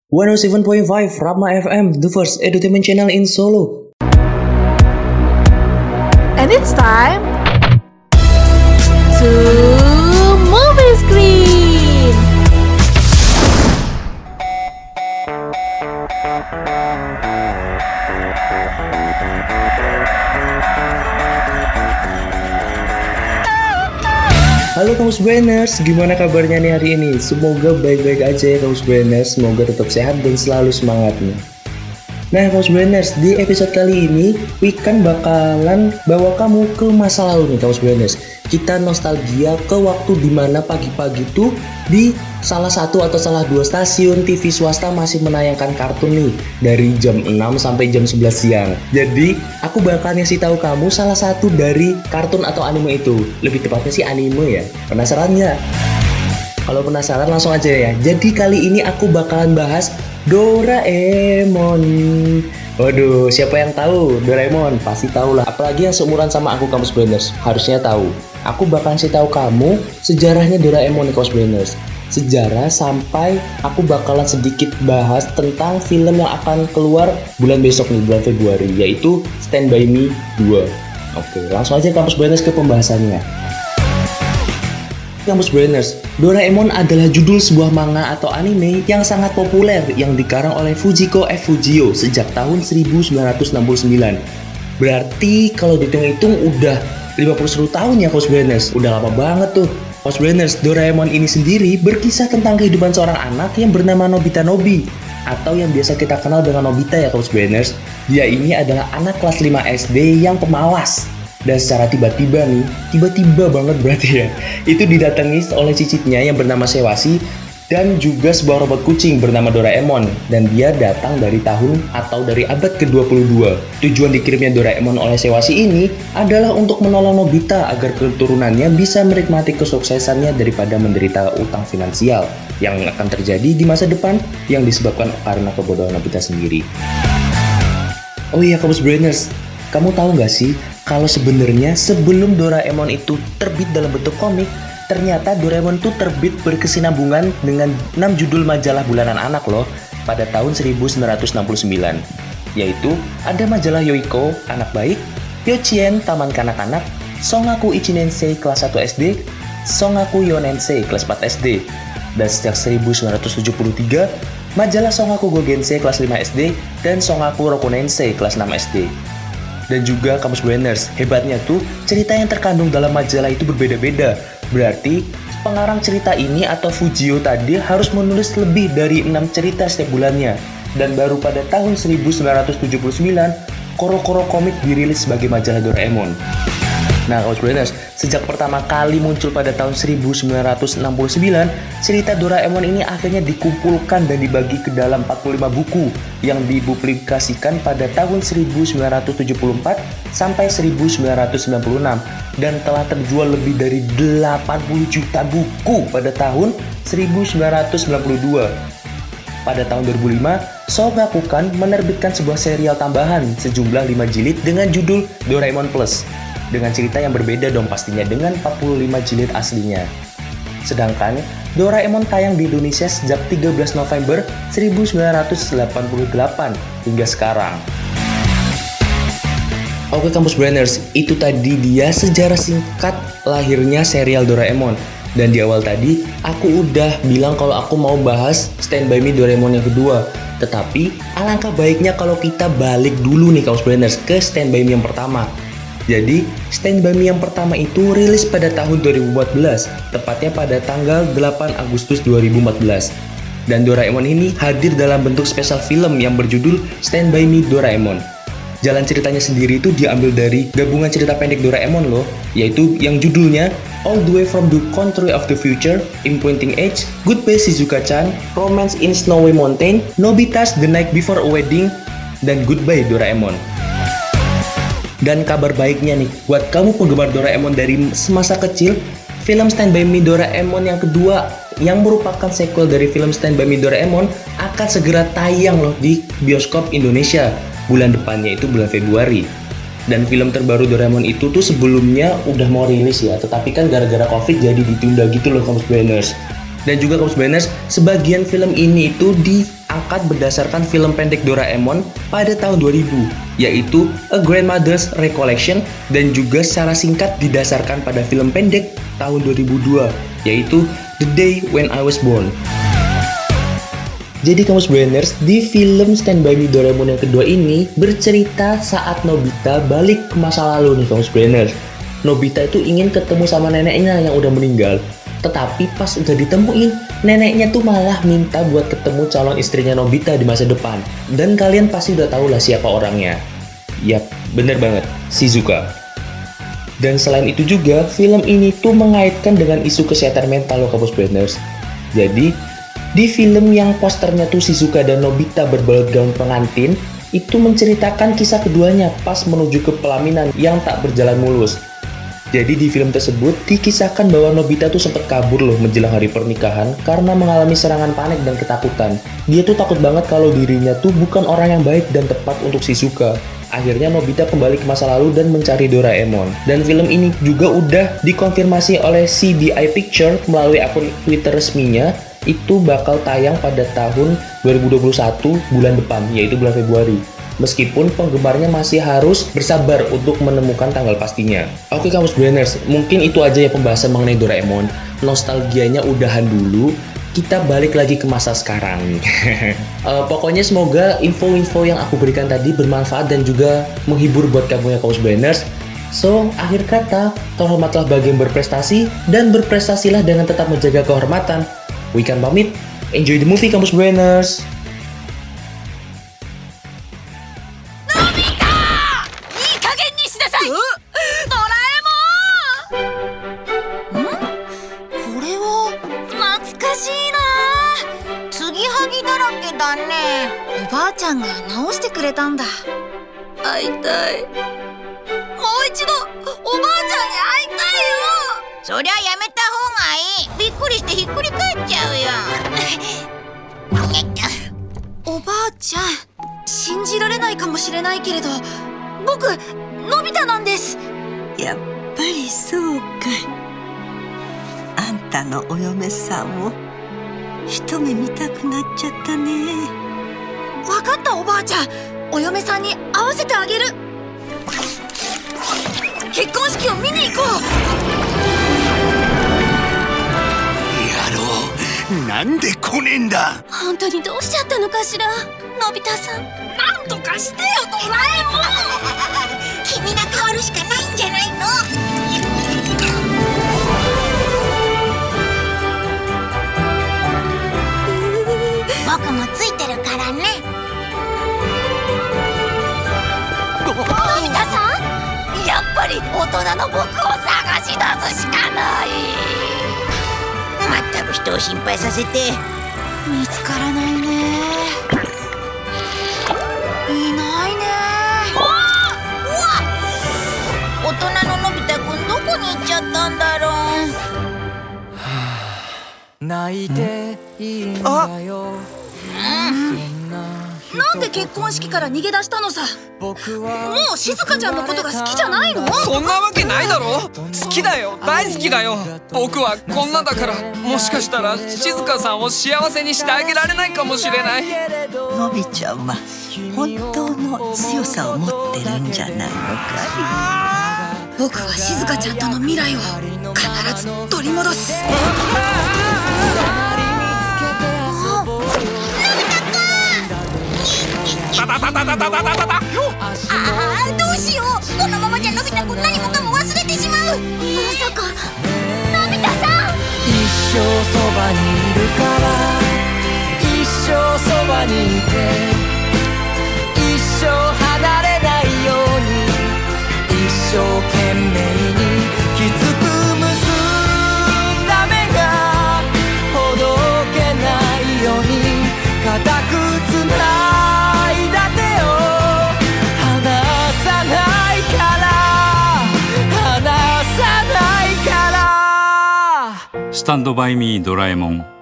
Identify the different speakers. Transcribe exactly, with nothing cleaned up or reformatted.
Speaker 1: one oh seven point five Rama F M, the first entertainment channel in Solo.
Speaker 2: And it's time to movie screen.
Speaker 1: Halo Kamus Brainers, gimana kabarnya nih hari ini? Semoga baik-baik aja ya Kamus Brainers, semoga tetap sehat dan selalu semangat nih. Nah Kamus Brainers, di episode kali ini Wikan bakalan bawa kamu ke masa lalu nih Kamus Brainers. Kita nostalgia ke waktu dimana pagi-pagi tuh di salah satu atau salah dua stasiun T V swasta masih menayangkan kartun nih dari jam enam sampai jam sebelas siang. Jadi aku bakal ngasih tahu kamu salah satu dari kartun atau anime itu. Lebih tepatnya sih anime ya. Penasaran nggak? Kalau penasaran langsung aja ya. Jadi kali ini aku bakalan bahas Doraemon. Waduh, siapa yang tahu Doraemon? Pasti tahu lah. Apalagi yang seumuran sama aku Kamus Brainers, harusnya tahu. Aku bakalan kasih tahu kamu sejarahnya Doraemon nih Kamus Brainers. Sejarah sampai aku bakalan sedikit bahas tentang film yang akan keluar bulan besok nih, bulan Februari, yaitu Stand By Me dua. Oke, langsung aja Kamus Brainers ke pembahasannya. Kamus Brainers, Doraemon adalah judul sebuah manga atau anime yang sangat populer yang dikarang oleh Fujiko F. Fujio sejak tahun seribu sembilan ratus enam puluh sembilan. Berarti kalau dihitung-hitung udah lima puluh satu tahun ya Kamus Brainers, udah lama banget tuh. Kamus Brainers, Doraemon ini sendiri berkisah tentang kehidupan seorang anak yang bernama Nobita Nobi, atau yang biasa kita kenal dengan Nobita ya Kamus Brainers. Dia ini adalah anak kelas lima S D yang pemalas. Dan secara tiba-tiba nih, tiba-tiba banget berarti ya, itu didatangi oleh cicitnya yang bernama Sewasi dan juga sebuah robot kucing bernama Doraemon. Dan dia datang dari tahun atau dari abad ke dua puluh dua. Tujuan dikirimnya Doraemon oleh Sewasi ini adalah untuk menolong Nobita agar keturunannya bisa menikmati kesuksesannya daripada menderita utang finansial yang akan terjadi di masa depan yang disebabkan karena kebodohan Nobita sendiri. Oh iya Kamus Brainers, kamu tahu nggak sih kalau sebenarnya sebelum Doraemon itu terbit dalam bentuk komik, ternyata Doraemon itu terbit berkesinambungan dengan enam judul majalah bulanan anak loh pada tahun seribu sembilan ratus enam puluh sembilan. Yaitu ada majalah Yoiko, Anak Baik, Yochien, Taman Kanak-Kanak, Songaku Ichinensei kelas satu S D, Songaku Yonensei kelas empat S D. Dan sejak seribu sembilan ratus tujuh puluh tiga, majalah Songaku Gogensei kelas lima S D dan Songaku Rokonensei kelas enam S D. Dan juga Kamus Brainers, hebatnya tuh cerita yang terkandung dalam majalah itu berbeda-beda. Berarti pengarang cerita ini atau Fujio tadi harus menulis lebih dari enam cerita setiap bulannya. Dan baru pada tahun seribu sembilan ratus tujuh puluh sembilan, Koro-Koro Komik dirilis sebagai majalah Doraemon. Nah Kamus Brainers, sejak pertama kali muncul pada tahun seribu sembilan ratus enam puluh sembilan, cerita Doraemon ini akhirnya dikumpulkan dan dibagi ke dalam empat puluh lima buku yang dipublikasikan pada tahun seribu sembilan ratus tujuh puluh empat sampai seribu sembilan ratus sembilan puluh enam dan telah terjual lebih dari delapan puluh juta buku pada tahun seribu sembilan ratus sembilan puluh dua. Pada tahun dua ribu lima, Shogakukan menerbitkan sebuah serial tambahan sejumlah lima jilid dengan judul Doraemon Plus, dengan cerita yang berbeda dong pastinya dengan empat puluh lima jilid aslinya. Sedangkan Doraemon tayang di Indonesia sejak tiga belas November seribu sembilan ratus delapan puluh delapan hingga sekarang. Oke Kamus Brainers, itu tadi dia sejarah singkat lahirnya serial Doraemon. Dan di awal tadi aku udah bilang kalau aku mau bahas Stand By Me Doraemon yang kedua. Tetapi alangkah baiknya kalau kita balik dulu nih Kamus Brainers ke Stand By Me yang pertama. Jadi, Stand By Me yang pertama itu rilis pada tahun dua ribu empat belas, tepatnya pada tanggal delapan Agustus dua ribu empat belas. Dan Doraemon ini hadir dalam bentuk spesial film yang berjudul Stand By Me Doraemon. Jalan ceritanya sendiri itu diambil dari gabungan cerita pendek Doraemon loh, yaitu yang judulnya All the Way from the Country of the Future, Imprinting Age, Goodbye Shizuka-chan, Romance in Snowy Mountain, Nobita's The Night Before a Wedding, dan Goodbye Doraemon. Dan kabar baiknya nih, buat kamu penggemar Doraemon dari semasa kecil, film Stand By Me Doraemon yang kedua yang merupakan sequel dari film Stand By Me Doraemon akan segera tayang loh di bioskop Indonesia bulan depannya, itu bulan Februari. Dan film terbaru Doraemon itu tuh sebelumnya udah mau rilis ya, tetapi kan gara-gara Covid jadi ditunda gitu loh Kamus Brainers. Dan juga Kamus Brainers, sebagian film ini itu di angkat berdasarkan film pendek Doraemon pada tahun dua ribu, yaitu A Grandmother's Recollection, dan juga secara singkat didasarkan pada film pendek tahun dua ribu dua, yaitu The Day When I Was Born. Jadi Kamus Brainers, di film Stand By Me Doraemon yang kedua ini bercerita saat Nobita balik ke masa lalu nih Kamus Brainers. Nobita itu ingin ketemu sama neneknya yang udah meninggal. Tetapi pas udah ditemuin, neneknya tuh malah minta buat ketemu calon istrinya Nobita di masa depan. Dan kalian pasti udah tahu lah siapa orangnya. Yap, bener banget, Shizuka. Dan selain itu juga, film ini tuh mengaitkan dengan isu kesehatan mental loh Kamus Brainers. Jadi, di film yang posternya tuh Shizuka dan Nobita berbalut gaun pengantin, itu menceritakan kisah keduanya pas menuju ke pelaminan yang tak berjalan mulus. Jadi di film tersebut dikisahkan bahwa Nobita tuh sempat kabur loh menjelang hari pernikahan karena mengalami serangan panik dan ketakutan. Dia tuh takut banget kalau dirinya tuh bukan orang yang baik dan tepat untuk Shizuka. Akhirnya Nobita kembali ke masa lalu dan mencari Doraemon. Dan film ini juga udah dikonfirmasi oleh C B I Picture melalui akun Twitter resminya, itu bakal tayang pada tahun dua ribu dua puluh satu bulan depan, yaitu bulan Februari. Meskipun penggemarnya masih harus bersabar untuk menemukan tanggal pastinya. Oke Kamus Brainers, mungkin itu aja ya pembahasan mengenai Doraemon. Nostalgianya udahan dulu, kita balik lagi ke masa sekarang. uh, pokoknya semoga info-info yang aku berikan tadi bermanfaat dan juga menghibur buat kamu ya Kamus Brainers. So, akhir kata, terhormatlah bagi yang berprestasi dan berprestasilah dengan tetap menjaga kehormatan. Wikan pamit, enjoy the movie Kamus Brainers.
Speaker 3: やっぱりそうか。あんたのお嫁さんを一目見たくなっちゃったね。
Speaker 4: わかったおばあちゃん、お嫁さんに会わせてあげる。結婚式を見に行こう。
Speaker 5: 野郎、なんで来ねえんだ。
Speaker 4: 本当にどうしちゃったのかしら、のび太さん。なんとかしてよドラえもん。君が変わるしかないんじゃないの。僕もついてるからね。のび太さん、やっぱり大人の僕を探し出すしかない。まったく人を心配させて。見つからないね。いないね。大人ののび太くんどこに行っちゃったんだろう。
Speaker 6: 泣いていいんだよ。
Speaker 4: なんで結婚式から逃げ出したのさ。もう静香ちゃんのことが好きじゃないの？
Speaker 6: そんなわけないだろ。好きだよ、大好きだよ。僕はこんなだから、もしかしたら静香さんを幸せにしてあげられないかもしれない。
Speaker 3: のびちゃんは本当の強さを持ってるんじゃないのかい。
Speaker 4: 僕は静香ちゃんとの未来を必ず取り戻す。
Speaker 5: タタタタタタタタタタ。
Speaker 4: ああ、どうしよう。このままじゃのび太くん何もかも忘れてしまう。まさかのび太さん。
Speaker 6: 一生そばにいるから、一生そばにいて、一生離れないように、一生懸命にきつく結んだ目がほどけないように固くつないだ手を離さないから離さないから。
Speaker 7: スタンドバイミードラえもん。